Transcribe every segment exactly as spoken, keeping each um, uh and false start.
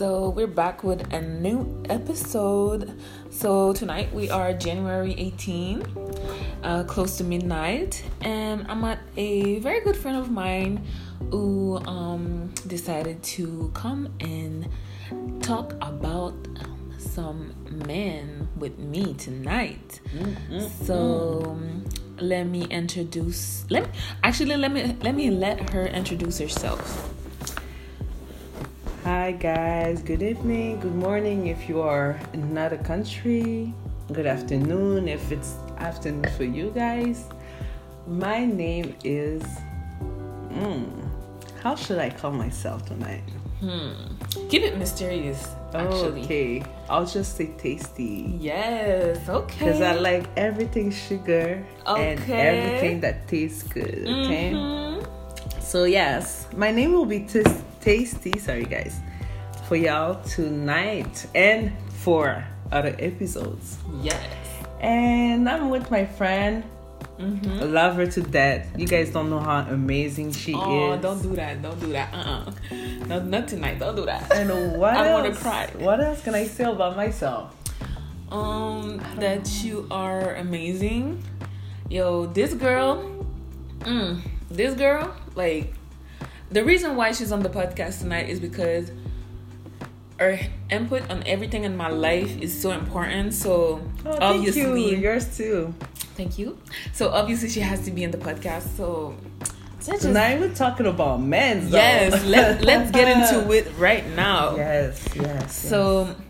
So we're back with a new episode. So tonight we are January eighteenth, uh, close to midnight, and I'm at a very good friend of mine who um, decided to come and talk about some men with me tonight. Mm-hmm. So um, let me introduce. Let me, actually let me let me let her introduce herself. Hi guys, good evening, good morning if you are in another country, good afternoon if it's afternoon for you guys. My name is, mm, how should I call myself tonight? Hmm. Keep it mysterious, actually. Okay, I'll just say tasty. Yes, okay. Because I like everything sugar okay. and everything that tastes good, okay? Mm-hmm. So yes, my name will be Tasty. Tasty, sorry guys, for y'all tonight and for other episodes. Yes. And I'm with my friend. Mm-hmm. I love her to death. You guys don't know how amazing she oh, is. Oh, don't do that. Don't do that. Uh-uh. No, not tonight. Don't do that. And what I else? want to cry. What else can I say about myself? Um, that know. You are amazing. Yo, this girl, mm, this girl, like, the reason why she's on the podcast tonight is because her input on everything in my life is so important. So oh, obviously, thank you. Yours too. Thank you. So obviously, she has to be in the podcast. So, so just, tonight we're talking about men. Though. Yes, let let's get into it right now. Yes, yes. So, yes.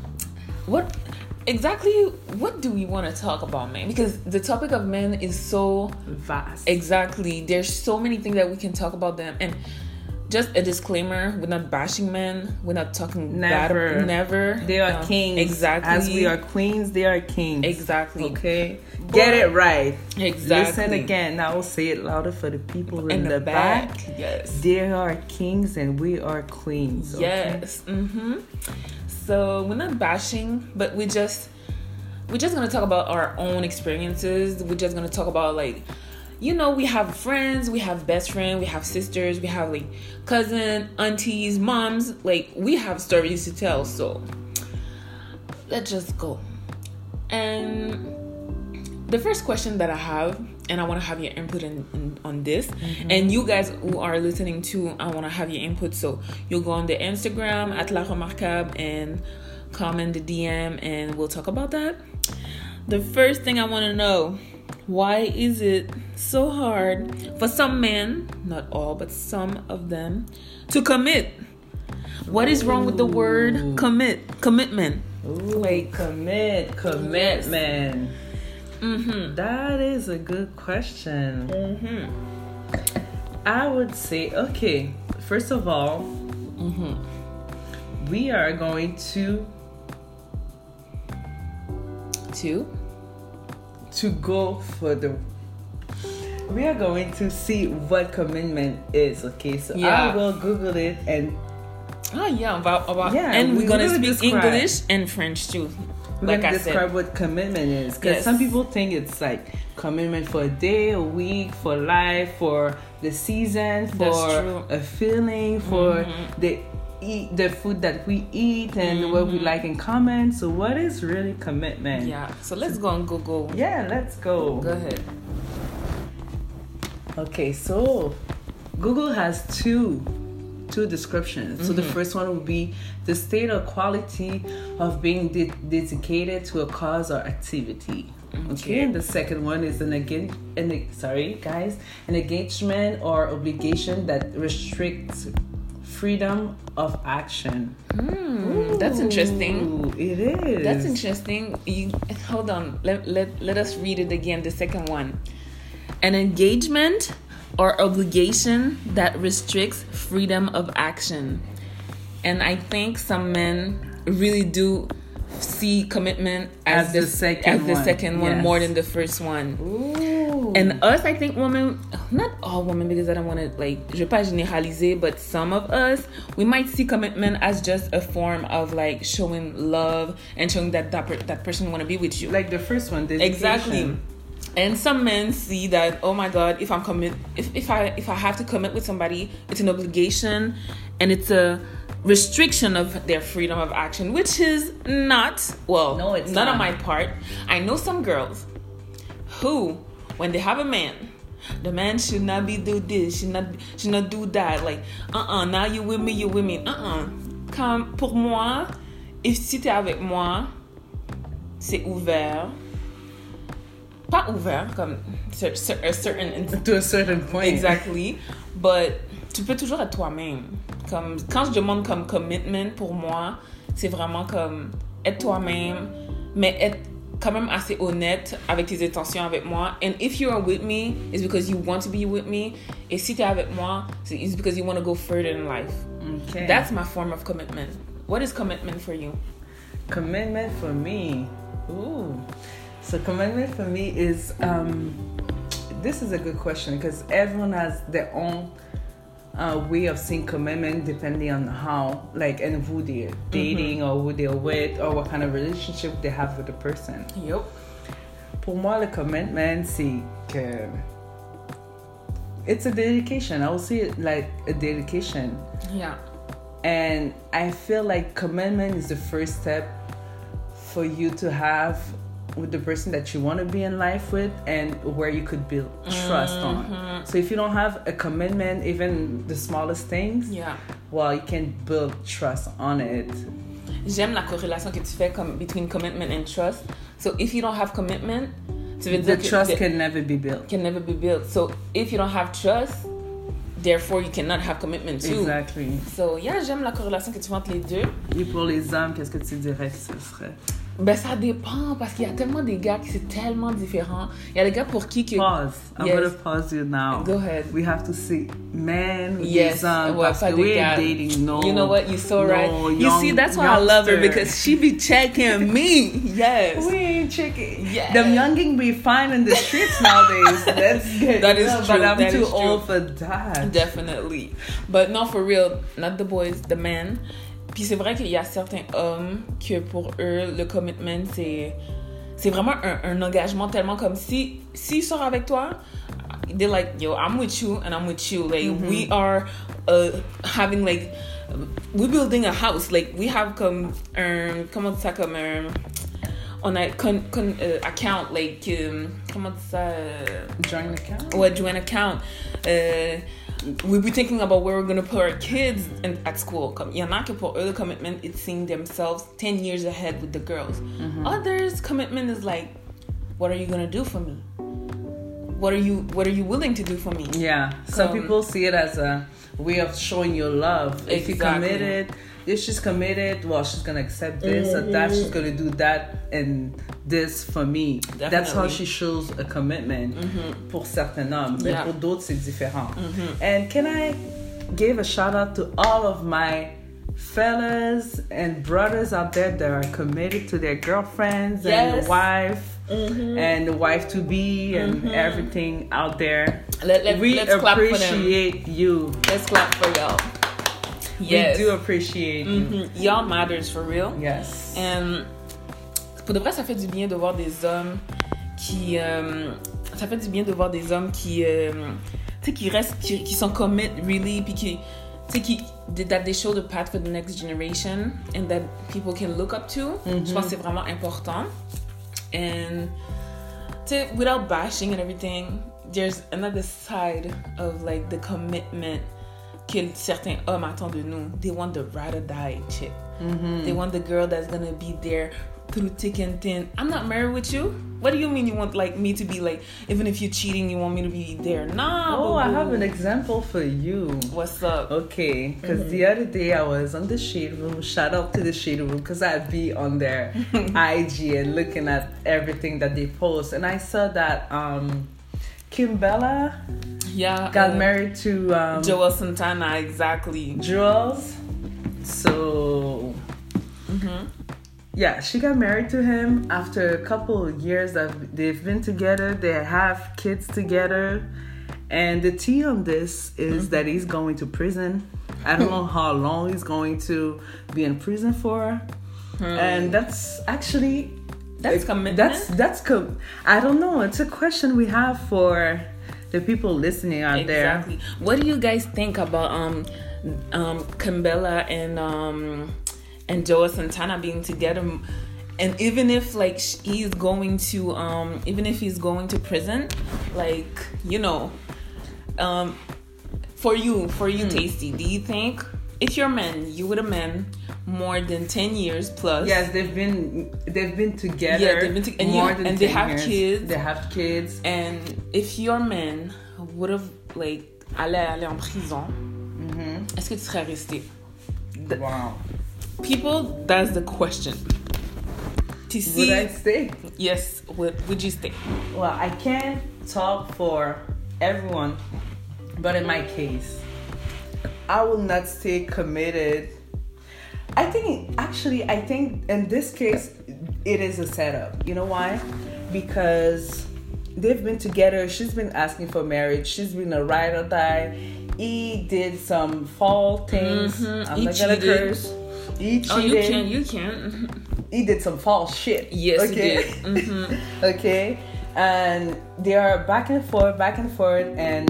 what exactly? What do we want to talk about, man? Because the topic of men is so vast. Exactly. There's so many things that we can talk about them. And just a disclaimer: we're not bashing men. We're not talking never, bad, never. They are no. kings. Exactly. As we are queens, they are kings. Exactly. Okay. But get it right. Exactly. Listen again. I will say it louder for the people in, in the, the back. back. Yes. They are kings and we are queens. Okay? Yes. Mm-hmm. So we're not bashing, but we just we're just gonna talk about our own experiences. We're just gonna talk about, like, you know, we have friends, we have best friends, we have sisters, we have like cousin, aunties, moms. Like, we have stories to tell. So let's just go. And the first question that I have, and I want to have your input in, in, on this, mm-hmm. and you guys who are listening too, I want to have your input. So you'll go on the Instagram at La Remarquable and comment the D M, and we'll talk about that. The first thing I want to know: why is it so hard for some men, not all, but some of them, to commit? What is wrong with the word commit? Commitment. Ooh, like commit, commitment. Yes. Mm-hmm. That is a good question. Mm-hmm. I would say, okay, first of all, mm-hmm. we are going to to to go for the we are going to see what commitment is. Okay, so yeah. I will Google it and oh yeah about about yeah, and we're we, gonna we're speak describe. English and French too. We're like gonna I describe said. what commitment is, because yes. some people think it's like commitment for a day, a week, for life, for the season, for a feeling, for mm-hmm. the eat the food that we eat and mm-hmm. what we like in common. So what is really commitment? Yeah. So let's go on Google. Yeah, let's go. Go ahead. Okay, so Google has two two descriptions. Mm-hmm. So the first one would be the state or quality of being de- dedicated to a cause or activity. Okay. okay. And the second one is an again an sorry guys an engagement or obligation that restricts freedom of action. Mm, that's interesting. It is. That's interesting. You hold on. Let let let us read it again. The second one, an engagement or obligation that restricts freedom of action. And I think some men really do see commitment as, as the, the second as the one. second one yes. more than the first one. Ooh. And us, I think women, not all women, because I don't want to, like, je veux pas généraliser, but some of us, we might see commitment as just a form of, like, showing love and showing that that, per- that person want to be with you. Like the first one, dedication. Exactly. And some men see that, oh my God, if I'm commit, if, if I if I have to commit with somebody, it's an obligation, and it's a restriction of their freedom of action, which is not, well, no, it's not not on my part. I know some girls who, when they have a man, the man should not be do this, should not should not do that. Like, uh-uh, now you with me, you with me. Uh-uh. Comme pour moi, et si t'es avec moi, c'est ouvert. Pas ouvert, comme a certain... To a certain point. Exactly. But tu peux toujours être toi-même. Comme, quand je demande comme commitment, pour moi, c'est vraiment comme être toi-même, mais être quand même assez honnête avec tes intentions avec moi. And if you are with me, it's because you want to be with me. Et si t'es avec moi, it's because you want to go further in life. Okay. That's my form of commitment. What is commitment for you? Commitment for me. Ooh. So commitment for me is, um, this is a good question because everyone has their own uh, way of seeing commitment depending on how, like, and who they're dating mm-hmm. or who they're with or what kind of relationship they have with the person. Yep. Pour moi, le commitment, c'est que it's a dedication. I would see it like a dedication. Yeah. And I feel like commitment is the first step for you to have with the person that you want to be in life with and where you could build trust mm-hmm. on. So if you don't have a commitment, even the smallest things, yeah, well, you can build trust on it. J'aime la corrélation que tu fais comme between commitment and trust. So if you don't have commitment, ça veut dire the que trust can never be built. Can never be built. So if you don't have trust, therefore you cannot have commitment too. Exactly. So yeah, j'aime la corrélation que tu fais entre les deux. Et pour les hommes, qu'est-ce que tu dirais que ce serait? Ben ça dépend parce qu'il y a tellement des gars qui c'est tellement différent. Il y a des gars pour qui que pause. I'm yes. gonna pause you now. Go ahead. We have to see men with yes. des hommes ouais, parce que we're dating no. You know what? You're so no, right. Young, you see, that's why youngster. I love her because she be checking me. Yes. We ain't checking. Yes. Them younging be fine in the streets nowadays. That's good. That is no, true. But I'm that too is old true. for that. Definitely. But not for real. Not the boys, the men. Puis c'est vrai qu'il y a certains hommes que pour eux, le commitment, c'est, c'est vraiment un, un engagement tellement comme si, s'ils sortent avec toi, they're like, yo, I'm with you and I'm with you. Like, mm-hmm. we are uh, having like, we're building a house. Like, we have comme un, comment ça, comme un, on a con, con, uh, account, like, um, comment ça? Joint account? Ouais, joint account. Uh, we'll be thinking about where we're going to put our kids in, at school. Il y en a que pour eux, the commitment, it's seeing themselves ten years ahead with the girls. Mm-hmm. Others, commitment is like, what are you going to do for me? What are you What are you willing to do for me? Yeah. Some um, people see it as a way of showing your love. Exactly. If you committed, if she's committed, well, she's going to accept this mm-hmm. or that. She's going to do that and this for me. Definitely. That's how she shows a commitment mm-hmm. pour certains hommes. Mais yeah. pour d'autres, c'est différent. Mm-hmm. And can I give a shout out to all of my fellas and brothers out there that are committed to their girlfriends yes. and the wife mm-hmm. and the wife to be and mm-hmm. everything out there. Let, let, we let's appreciate clap for them. you. Let's clap for y'all. Yes. We do appreciate mm-hmm. you. Y'all matters for real. Yes. And pour de vrai, ça fait du bien de voir des hommes qui, euh, ça fait du bien de voir des hommes qui, euh, tu sais, qui restent, qui, qui sont commit really, puis qui, tu sais, qui, that they show the path for the next generation and that people can look up to. Mm-hmm. Je pense que c'est vraiment important. And tu sais, without bashing and everything, there's another side of like the commitment que certains hommes attendent de nous. They want the ride or die chick. Mm-hmm. They want the girl that's gonna be there through thick and thin. I'm not married with you. What do you mean you want like me to be like, even if you're cheating, you want me to be there? Nah. Oh, boo-boo. I have an example for you. What's up? Okay, because mm-hmm. the other day I was on the Shade Room. Shout out to the Shade Room because I'd be on their I G and looking at everything that they post, and I saw that um, Kim Bella yeah got uh, married to um, Joel Santana. Exactly. Jules. So. Mm-hmm. Yeah, she got married to him after a couple of years that they've been together. They have kids together. And the tea on this is mm-hmm. that he's going to prison. I don't know how long he's going to be in prison for. Hmm. And that's actually... That's commitment? That's, that's com- I don't know. It's a question we have for the people listening out exactly. there. What do you guys think about um um Kimbella and um and Joe Santana being together? And even if like he's going to um even if he's going to prison, like, you know, um for you for you mm. Tasty, do you think if you're a man, you with a man more than ten years plus? Yes, they've been they've been together. Yeah, they've been to- and more you, than and ten they have years. kids. They have kids. And if your man would have like allé aller en prison, mm-hmm. est-ce que tu serais resté? Wow. People, that's the question. To see, would I stay? Yes. Would Would you stay? Well, I can't talk for everyone, but in my case, I will not stay committed. I think, actually, I think in this case, it is a setup. You know why? Because they've been together. She's been asking for marriage. She's been a ride or die. He did some foul things. Mm-hmm. I'm he not gonna cheated. curse. He cheated. Oh, you can, you can. He did some false shit. Yes, okay? he did. Mm-hmm. Okay, and they are back and forth, back and forth, and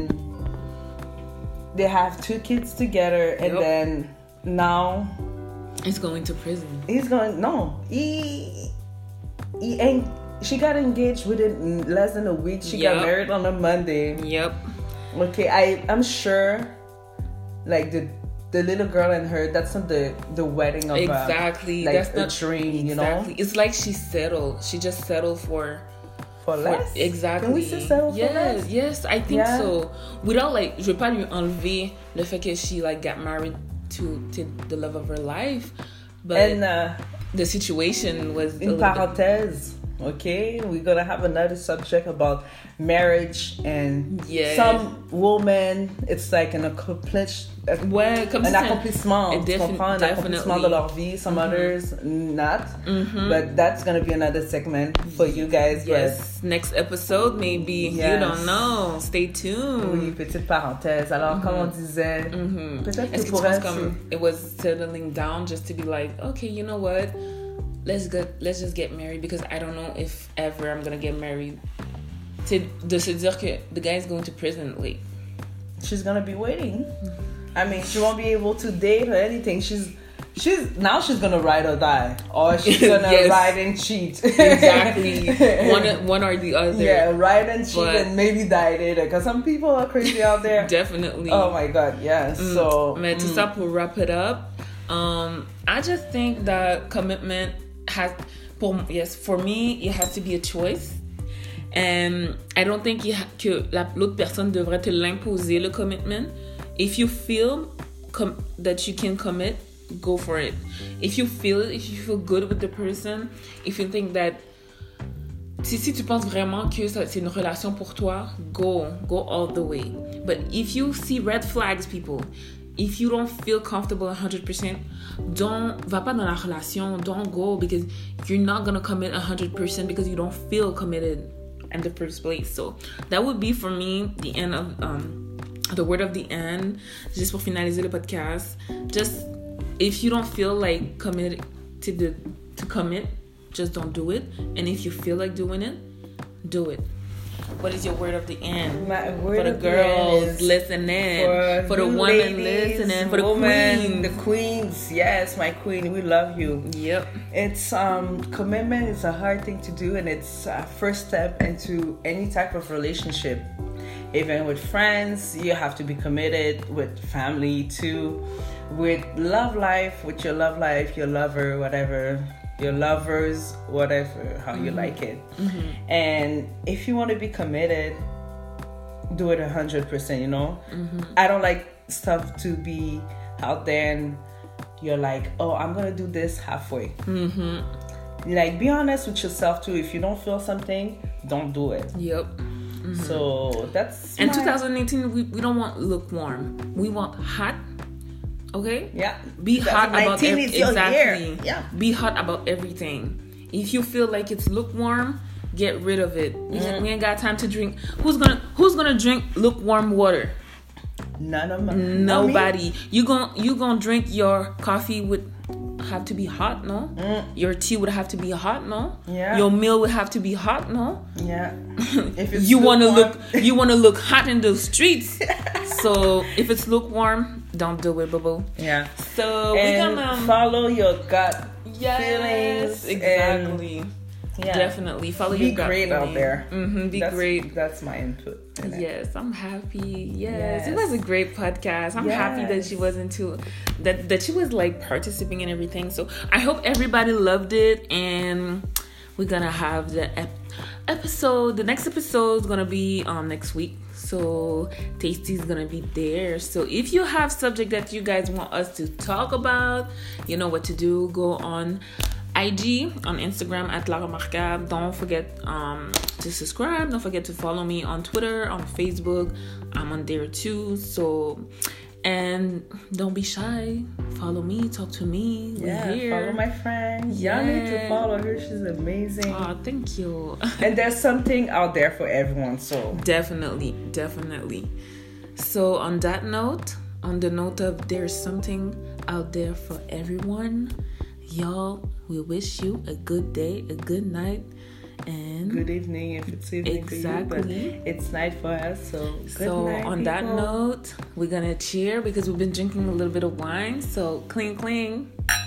they have two kids together, and yep. then now he's going to prison. He's going no. He he ain't. She got engaged within less than a week. She yep. got married on a Monday. Yep. Okay, I I'm sure, like the. The little girl and her, that's not the, the wedding of exactly. A, like that's a not, dream, you exactly. know? It's like she settled. She just settled for... For less? For, exactly. Can we still settle yes, for less? Yes, I think yeah. so. Without like, je vais pas lui enlever le fait que she like got married to, to the love of her life. But and, uh, the situation was... In parenthèse, okay? We're going to have another subject about marriage and yeah. some women, it's like an accomplished... Ouais, comme un accomplissement, defi- un accomplissement de leur vie. Some mm-hmm. others not, mm-hmm. but that's gonna be another segment for you guys. Yes, but next episode maybe. Yes. You don't know. Stay tuned. Oui, petite parenthèse. Alors, mm-hmm. comme on disait, mm-hmm. peut-être Est-ce que que pour tu elle, penses comme it was settling down just to be like, okay, you know what? Let's get, let's just get married because I don't know if ever I'm gonna get married. To, de se dire que the guy is going to prison, like she's gonna be waiting. Mm-hmm. I mean, she won't be able to date or anything. She's, she's now she's gonna ride or die, or she's gonna yes. ride and cheat. Exactly, one, one or the other. Yeah, ride and cheat but, and maybe die later. Because some people are crazy out there. Definitely. Oh my God, yeah. Mm. So, mais tout ça pour wrap it up. Um, I just think that commitment has, pour, yes, for me, it has to be a choice. And I don't think you ha- que la, l'autre personne devrait te l'imposer le commitment. If you feel com- that you can commit, go for it. If you feel it, if you feel good with the person, if you think that si, si tu penses vraiment que ça, c'est une relation pour toi, go, go all the way. But if you see red flags, people, if you don't feel comfortable one hundred percent, don't, va pas dans la relation, don't go because you're not gonna commit one hundred percent because you don't feel committed in the first place. So that would be for me the end of um the word of the end, just pour finaliser le podcast. Just if you don't feel like committed to the to commit, just don't do it. And if you feel like doing it, do it. What is your word of the end? My word for the of girls the end listening, for, for the women ladies, listening, for the woman, queens, the queens. Yes, my queen, we love you. Yep. It's um commitment is a hard thing to do, and it's a first step into any type of relationship. Even with friends, you have to be committed. With family too, with love life, with your love life, your lover, whatever. Your lovers, whatever, how you mm-hmm. like it. Mm-hmm. And if you want to be committed, do it one hundred percent, you know? Mm-hmm. I don't like stuff to be out there and you're like, oh, I'm going to do this halfway. Mm-hmm. Like, be honest with yourself too. If you don't feel something, don't do it. Yep. Mm-hmm. So that's And my... twenty eighteen, we, we don't want lukewarm. We want hot. Okay? Yeah. Be hot about everything. Exactly. Yeah. Be hot about everything. If you feel like it's lukewarm, get rid of it. Mm. We ain't got time to drink. Who's gonna Who's gonna drink lukewarm water? None of my Nobody. You gon' you gonna drink your coffee with have to be hot, no? Mm. Your tea would have to be hot, no? Yeah. Your meal would have to be hot, no? Yeah. If it's you want to lukewarm. look you want to look hot in the streets. So if it's lukewarm, don't do it, boo. Yeah. So And we can um, follow your gut yes, feelings. exactly. And, yeah. Definitely follow Be your gut great feeling. out there. Mm-hmm, be that's, great. That's my input. in it. Yes, I'm happy. Yes. Yes. It was a great podcast. I'm happy that Yes. she was into that that she was like participating in everything. So I hope everybody loved it, and we're gonna have the ep- episode. The next episode is gonna be um next week. So Tasty's gonna be there. So if you have subject that you guys want us to talk about, you know what to do. Go on I G, on Instagram at La Remarquable. Don't forget um, to subscribe. Don't forget to follow me on Twitter, on Facebook. I'm on there too. So, and don't be shy. Follow me. Talk to me. Yeah, We're here. follow my friend. Y'all need to Yeah. follow her. She's amazing. Oh, thank you. And there's something out there for everyone. So Definitely, definitely. So on that note, on the note of there's something out there for everyone, y'all, we wish you a good day, a good night, and good evening if it's evening Exactly. for you, but it's night for us. So good so night, on that people. note, we're gonna cheer because we've been drinking a little bit of wine. So cling cling.